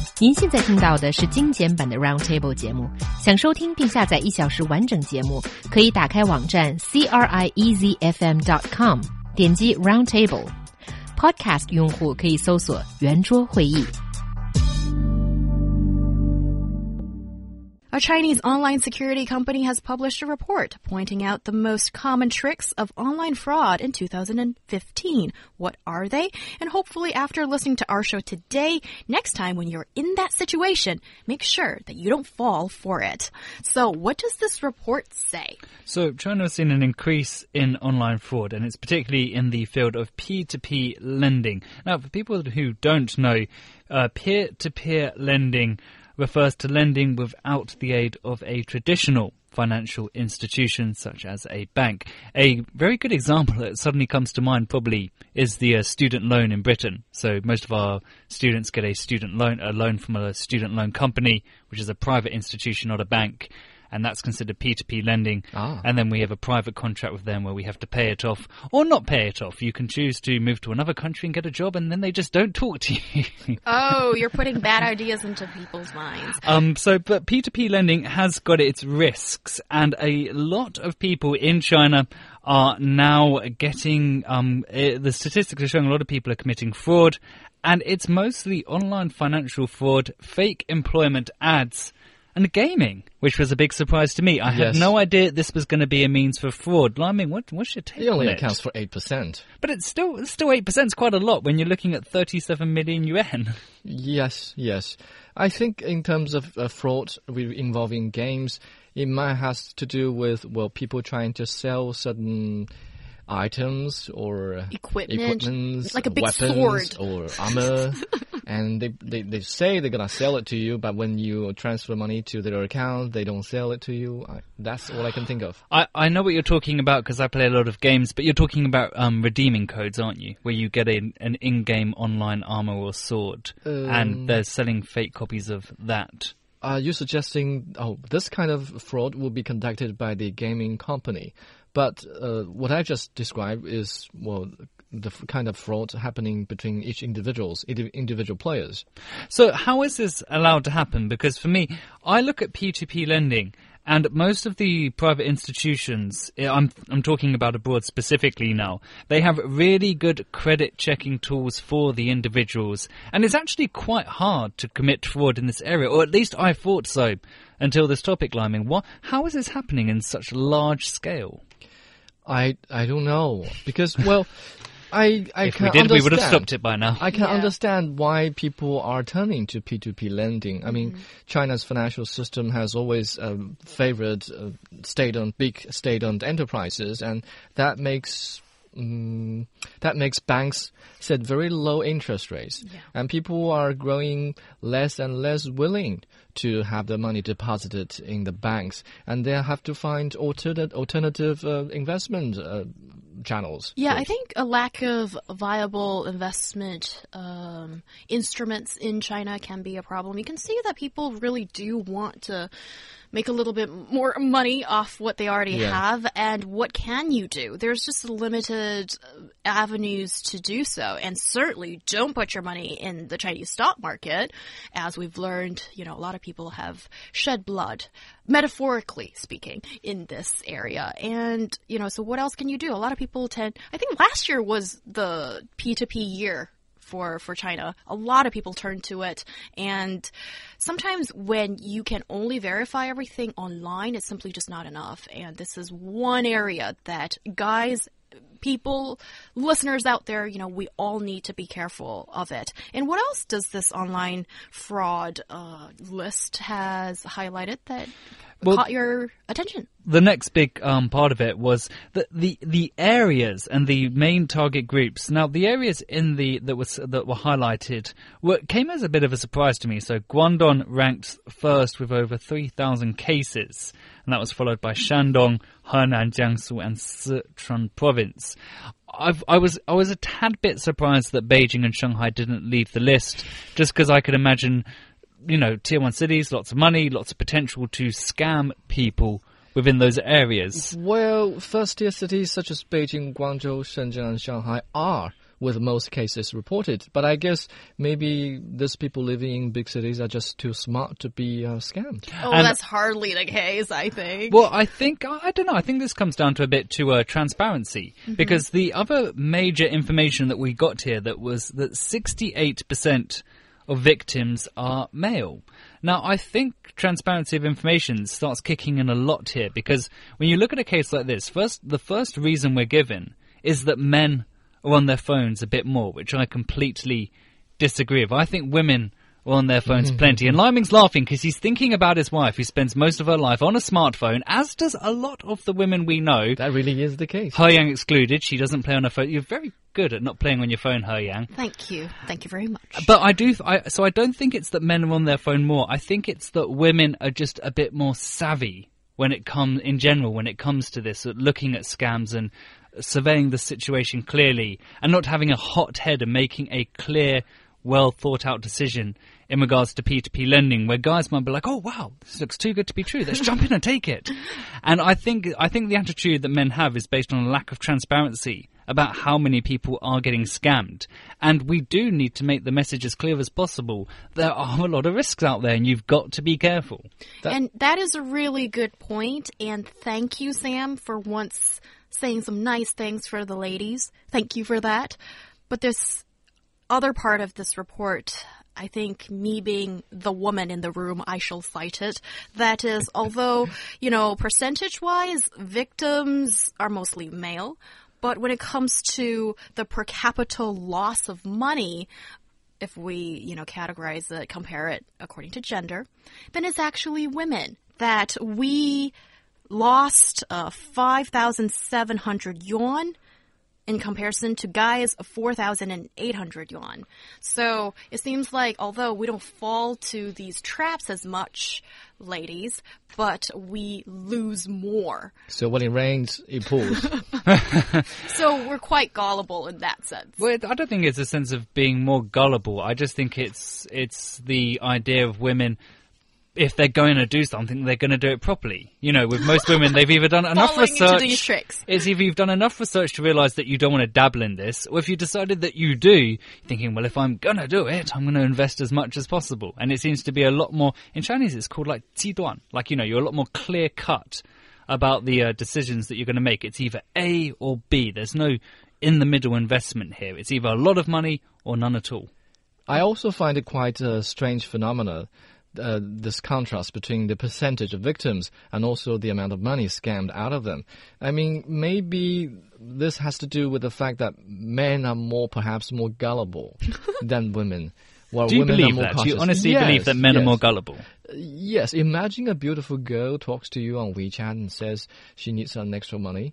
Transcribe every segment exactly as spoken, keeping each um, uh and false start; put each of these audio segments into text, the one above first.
您现在听到的是精简版的 Roundtable 节目。想收听并下载一小时完整节目，可以打开网站 c r i e z f m dot com， 点击 Roundtable。Podcast 用户可以搜索圆桌会议。 A Chinese online security company has published a report pointing out the most common tricks of online fraud in two thousand fifteen. What are they? And hopefully after listening to our show today, next time when you're in that situation, make sure that you don't fall for it. So what does this report say? So China has seen an increase in online fraud, and it's particularly in the field of P two P lending. Now, for people who don't know, uh, peer-to-peer lending refers to lending without the aid of a traditional financial institution such as a bank. A very good example that suddenly comes to mind probably is the uh, student loan in Britain. So most of our students get a student loan, a loan from a student loan company, which is a private institution, not a bank. And that's considered P two P lending. Ah. And then we have a private contract with them where we have to pay it off or not pay it off. You can choose to move to another country and get a job, and then they just don't talk to you. Oh, you're putting bad ideas into people's minds. Um, so, but P two P lending has got its risks, and a lot of people in China are now getting, um, uh, the statistics are showing a lot of people are committing fraud, and it's mostly online financial fraud, fake employment ads, and gaming, which was a big surprise to me. I Yes. had no idea this was going to be a means for fraud. Liming, what, what's your take It only on it? accounts for eight percent. But it's still, it's still eight percent. It's quite a lot when you're looking at thirty-seven million yuan. Yes, yes. I think in terms of uh, fraud involving games, it might has to do with, well, people trying to sell certain items or Equipment, equipments, like a big weapons sword. or armor. And they, they, they say they're going to sell it to you, but when you transfer money to their account, they don't sell it to you. I, that's all I can think of. I, I know what you're talking about because I play a lot of games, but you're talking about um, redeeming codes, aren't you? Where you get a, an in-game online armor or sword, Um, and they're selling fake copies of that. Are you suggesting, oh, this kind of fraud will be conducted by the gaming company? But uh, what I just described is, well, the f- kind of fraud happening between each individuals, indi- individual players. So how is this allowed to happen? Because for me, I look at P two P lending, and most of the private institutions, I'm, I'm talking about abroad specifically now, they have really good credit checking tools for the individuals. And it's actually quite hard to commit fraud in this area, or at least I thought so until this topic, Liming. What, how is this happening in such large scale? I I don't know, because, well, I I If can we did, understand. we would have stopped it by now. I can Yeah. understand why people are turning to P two P lending. I mean, China's financial system has always um, favored uh, state-owned, big state-owned enterprises, and that makes um, that makes banks set very low interest rates, Yeah. and people are growing less and less willing to have their money deposited in the banks, and they have to find alternate alternative uh, investment uh, channels. Yeah, I first. think a lack of viable investment um, instruments in China can be a problem. You can see that people really do want to make a little bit more money off what they already Yeah. have. And what can you do? There's just limited avenues to do so. And certainly don't put your money in the Chinese stock market. As we've learned, you know, a lot of people have shed blood, metaphorically speaking, in this area. And, you know, so what else can you do? A lot of people tend, I think last year was the P two P year for, for China. A lot of people turn to it. And sometimes when you can only verify everything online, it's simply just not enough. And this is one area that guys, people, listeners out there, you know, we all need to be careful of it. And what else does this online fraud uh, list has highlighted that Well, caught your attention? The next big um, part of it was the, the the areas and the main target groups. Now, the areas in the that was that were highlighted were came as a bit of a surprise to me. So, Guangdong ranked first with over three thousand cases, and that was followed by Shandong, Henan, Jiangsu, and Sichuan province. I've, I was I was a tad bit surprised that Beijing and Shanghai didn't leave the list, just because I could imagine, you know, tier one cities, lots of money, lots of potential to scam people within those areas. Well, first-tier cities such as Beijing, Guangzhou, Shenzhen, and Shanghai are with most cases reported. But I guess maybe these people living in big cities are just too smart to be uh, scammed. Oh, And- that's hardly the case, I think. Well, I think, I don't know, I think this comes down to a bit to uh, transparency. Because the other major information that we got here that was that sixty-eight percent of victims are male. Now, I think transparency of information starts kicking in a lot here, because when you look at a case like this, first the first reason we're given is that men are on their phones a bit more, which I completely disagree with. I think women are on their phones plenty. And Liming's laughing because he's thinking about his wife, who spends most of her life on a smartphone, as does a lot of the women we know. That really is the case. He Yang excluded. She doesn't play on her phone. You're very good at not playing on your phone, He Yang. Thank you. Thank you very much. But I do, I, so I don't think it's that men are on their phone more. I think it's that women are just a bit more savvy when it comes, in general, when it comes to this, looking at scams and surveying the situation clearly and not having a hot head and making a clear, well thought out decision in regards to P two P lending, where guys might be like, oh wow, this looks too good to be true, let's jump in and take it. And I think I think the attitude that men have is based on a lack of transparency about how many people are getting scammed. And we do need to make the message as clear as possible. There are a lot of risks out there and you've got to be careful. That- And that is a really good point. And thank you, Sam, for once saying some nice things for the ladies. Thank you for that. But this other part of this report, I think me being the woman in the room, I shall cite it. That is, although, you know, percentage-wise, victims are mostly male, but when it comes to the per capita loss of money, if we, you know, categorize it, compare it according to gender, then it's actually women that we lost uh, five thousand seven hundred yuan in comparison to guys of four thousand eight hundred yuan. So it seems like although we don't fall to these traps as much, ladies, but we lose more. So when it rains, it pours. So we're quite gullible in that sense. Well, I don't think it's a sense of being more gullible. I just think it's it's the idea of women, if they're going to do something, they're going to do it properly. You know, with most women, they've either done enough Falling into research. these tricks. It's either you've done enough research to realise that you don't want to dabble in this, or if you decided that you do, you're thinking, well, if I'm going to do it, I'm going to invest as much as possible. And it seems to be a lot more, in Chinese it's called like 极端. Like, you know, you're a lot more clear cut about the uh, decisions that you're going to make. It's either A or B. There's no in the middle investment here. It's either a lot of money or none at all. I also find it quite a strange phenomenon, uh, this contrast between the percentage of victims and also the amount of money scammed out of them. I mean, maybe this has to do with the fact that men are more, perhaps more gullible than women. While Do you women believe are more that? Do cautious. you honestly Yes, believe that men yes. are more gullible? Yes. Imagine a beautiful girl talks to you on WeChat and says she needs some extra money.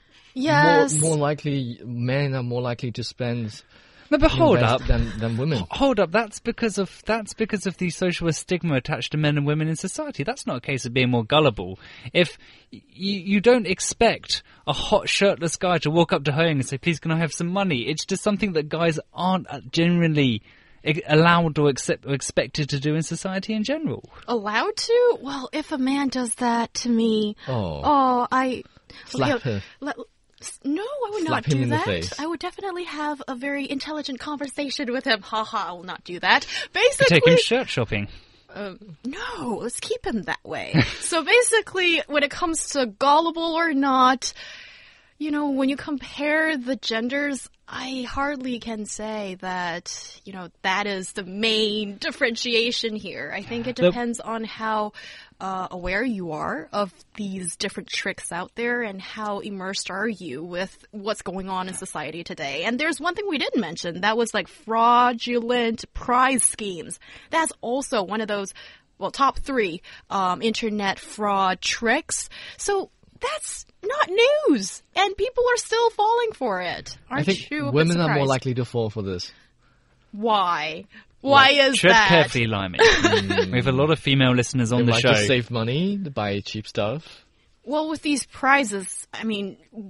Yes. More, more likely, men are more likely to spend No, but hold invest up. than, than women. Hold up, that's because of that's because of the social stigma attached to men and women in society. That's not a case of being more gullible. If y- you don't expect a hot shirtless guy to walk up to her and say, "Please, can I have some money?" It's just something that guys aren't generally e- allowed or, accept, or expected to do in society in general. Allowed to? Well, if a man does that to me, Oh. oh, I Slap okay, her. let- no, I would Slap not him do in the that. face. I would definitely have a very intelligent conversation with him. Ha ha! I will not do that. Basically, Take him shirt shopping. Um, no, let's keep him that way. So basically, when it comes to gullible or not, you know, when you compare the genders, I hardly can say that, you know, that is the main differentiation here. I think it The- depends on how uh, aware you are of these different tricks out there and how immersed are you with what's going on in society today. And there's one thing we didn't mention. That was like fraudulent prize schemes. That's also one of those, well, top three um, internet fraud tricks. So that's not news, and people are still falling for it. Aren't I think you? a bit women are more surprised? likely to fall for this. Why? Why is Tread that? carefully, Limey. We have a lot of female listeners on They the like show. to save money, to buy cheap stuff. Well, with these prizes, I mean,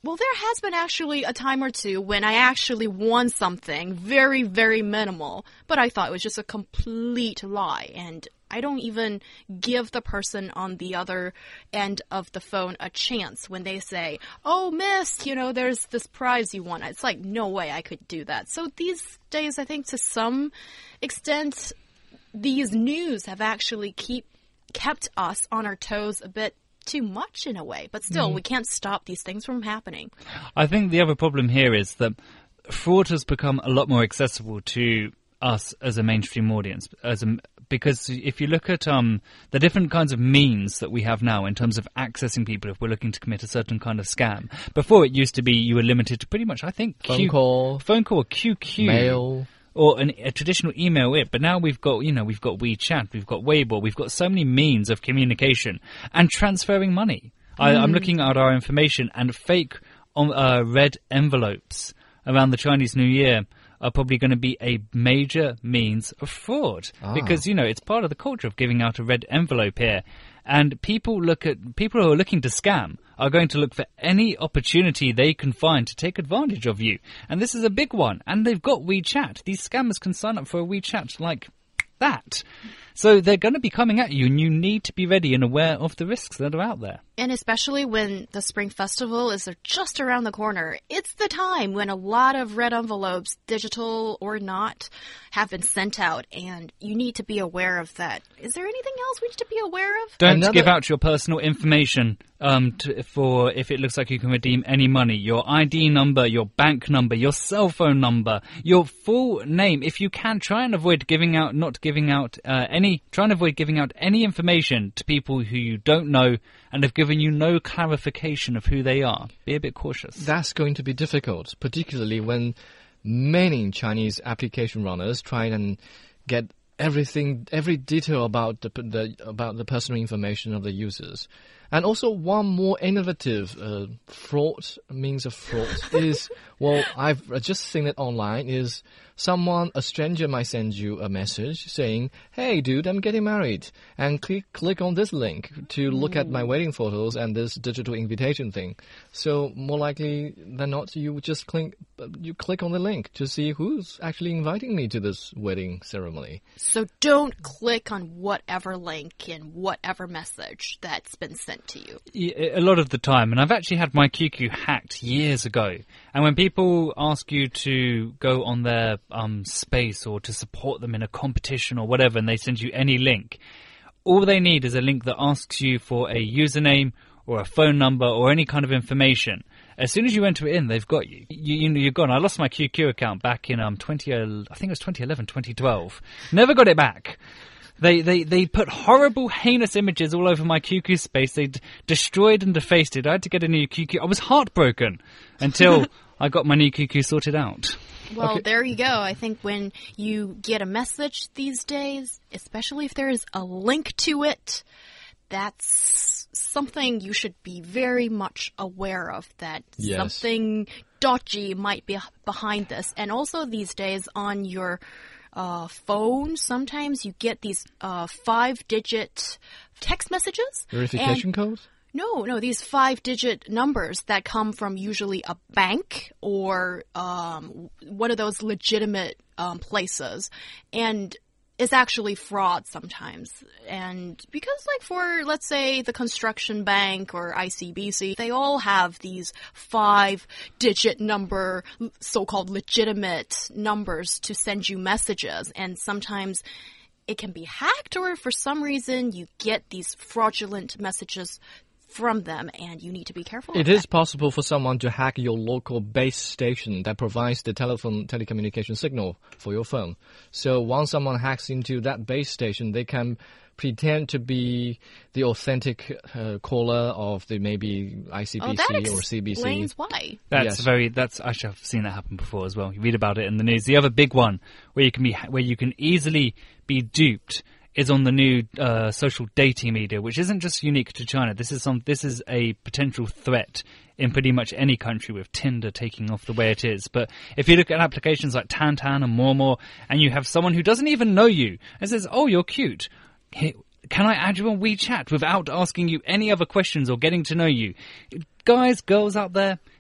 Well, there has been actually a time or two when I actually won something very, very minimal, but I thought it was just a complete lie, and I don't even give the person on the other end of the phone a chance when they say, oh, miss, you know, there's this prize you won. It's like, no way I could do that. So these days, I think to some extent, these news have actually keep kept us on our toes a bit too much in a way, but still, mm. we can't stop these things from happening. I think the other problem here is that fraud has become a lot more accessible to us as a mainstream audience, as a, because if you look at um, the different kinds of means that we have now in terms of accessing people if we're looking to commit a certain kind of scam. Before, it used to be you were limited to pretty much, I think, phone Q, call, phone call, Q Q, mail, or an, a traditional email. It, but now we've got, you know, we've got WeChat, we've got Weibo, we've got so many means of communication and transferring money. Mm. I, I'm looking at our information, and fake um, uh, red envelopes around the Chinese New Year are probably going to be a major means of fraud. Ah. Because, you know, it's part of the culture of giving out a red envelope here. And people look at people who are looking to scam are going to look for any opportunity they can find to take advantage of you. And this is a big one. And they've got WeChat. These scammers can sign up for a WeChat like that. So they're going to be coming at you, and you need to be ready and aware of the risks that are out there. And especially when the Spring Festival is just around the corner, it's the time when a lot of red envelopes, digital or not, have been sent out, and you need to be aware of that. Is there anything else we need to be aware of? Don't Another... give out your personal information um, to, for if it looks like you can redeem any money. Your I D number, your bank number, your cell phone number, your full name. If you can, try and avoid giving out, not giving out uh, any Try and avoid giving out any information to people who you don't know and have given you no clarification of who they are. Be a bit cautious. That's going to be difficult, particularly when many Chinese application runners try and get everything, every detail about the, the about the personal information of the users. And also, one more innovative uh, fraud means of fraud is, well, I've just seen it online, is someone, a stranger might send you a message saying, hey, dude, I'm getting married, and click click on this link to look at my wedding photos and this digital invitation thing. So more likely than not, you just click, you click on the link to see who's actually inviting me to this wedding ceremony. So don't click on whatever link and whatever message that's been sent to you. A lot of the time, and I've actually had my Q Q hacked years ago, and when people ask you to go on their um, space or to support them in a competition or whatever, and they send you any link, all they need is a link that asks you for a username or a phone number or any kind of information. As soon as you enter it in, they've got you. you, you you're gone. I lost my Q Q account back in um twenty. I think it was twenty eleven, twenty twelve. Never got it back. They, they, they put horrible, heinous images all over my Q Q space. They d destroyed and defaced it. I had to get a new Q Q. I was heartbroken until I got my new Q Q sorted out. Well, okay. There you go. I think when you get a message these days, especially if there is a link to it, that's something you should be very much aware of, that yes. something dodgy might be behind this. And also these days on your Uh, phone, sometimes you get these uh, five-digit text messages. Verification code? No, no, these five-digit numbers that come from usually a bank or um, one of those legitimate um, places. And it's actually fraud sometimes. And because, like, for, let's say, the Construction Bank or I C B C, they all have these five-digit number, so-called legitimate numbers to send you messages. And sometimes it can be hacked, or for some reason you get these fraudulent messages from them, and you need to be careful. It is possible for someone to hack your local base station that provides the telephone telecommunication signal for your phone. So once someone hacks into that base station, they can pretend to be the authentic uh, caller of the maybe I C B C oh, or C B C. That explains why. That's yes. very. That's actually, I've seen that happen before as well. You read about it in the news. The other big one where you can be where you can easily be duped is on the new uh, social dating media, which isn't just unique to China. This is some. This is a potential threat in pretty much any country, with Tinder taking off the way it is. But if you look at applications like Tantan and Momo, and you have someone who doesn't even know you and says, "Oh, you're cute. Hey, can I add you on WeChat?" without asking you any other questions or getting to know you. Guys, girls out there,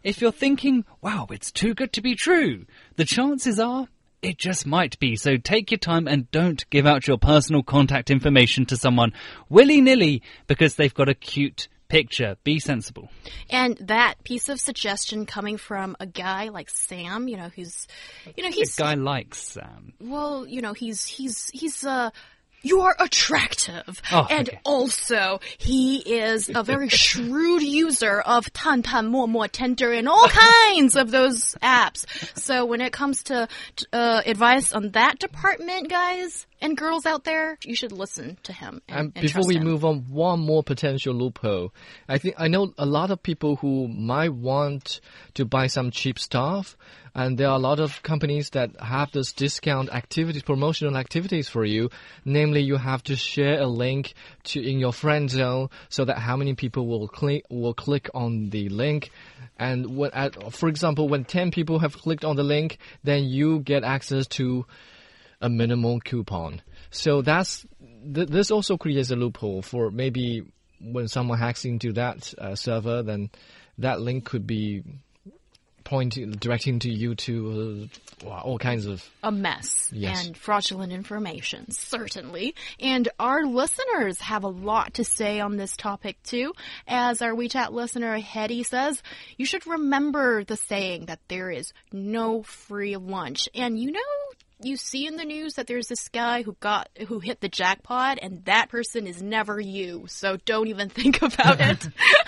if you're thinking, wow, it's too good to be true, the chances are it just might be. So take your time and don't give out your personal contact information to someone willy-nilly because they've got a cute picture. Be sensible. And that piece of suggestion coming from a guy like Sam, you know, who's, you know, he's a guy like Sam. Well, you know, he's he's he's uh. You are attractive. Oh, and okay. also, he is a very shrewd user of Tan Tan, Mo Mo, Tinder, and all kinds of those apps. So when it comes to uh, advice on that department, guys and girls out there, you should listen to him. And, And and before trust we him. move on, one more potential loophole. I think I know a lot of people who might want to buy some cheap stuff, and there are a lot of companies that have this discount activities, promotional activities for you. Namely, you have to share a link to in your friend zone so that how many people will click will click on the link. And when, at, for example, when ten people have clicked on the link, then you get access to a minimal coupon. So that's th this also creates a loophole for maybe when someone hacks into that uh, server, then that link could be pointing, directing to you to uh, wow, all kinds of a mess Yes. and fraudulent information, certainly. And our listeners have a lot to say on this topic too. As our WeChat listener Hetty says, you should remember the saying that there is no free lunch. And you know, you see in the news that there's this guy who got who hit the jackpot, and that person is never you. So don't even think about it.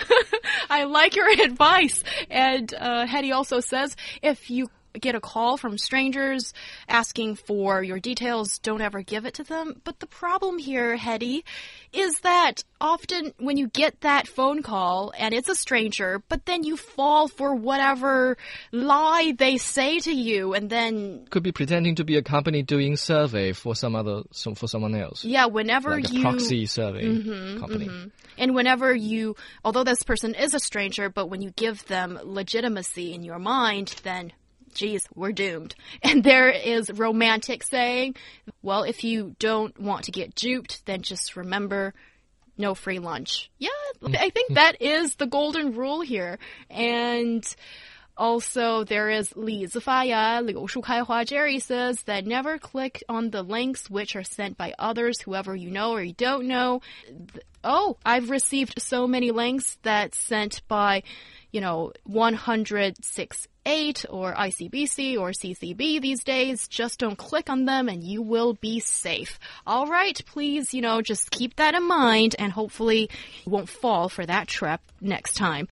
I like your advice. And uh, Hetty also says, if you get a call from strangers asking for your details, don't ever give it to them. But the problem here, Hetty, is that often when you get that phone call and it's a stranger, but then you fall for whatever lie they say to you, and then could be pretending to be a company doing survey for some other some, for someone else. yeah, whenever Like a you proxy survey Mhm, company. mhm. And whenever you, although this person is a stranger, but when you give them legitimacy in your mind, then geez, we're doomed. And there is romantic saying, well, if you don't want to get duped, then just remember, no free lunch. Yeah, I think that is the golden rule here. And also, there is Li Zifaya, Liu Shukaihua. Jerry says that never click on the links which are sent by others, whoever you know or you don't know. Oh, I've received so many links that sent by, you know, one hundred six eight or I C B C or C C B these days. Just don't click on them and you will be safe. All right, please, you know, just keep that in mind and hopefully you won't fall for that trap next time.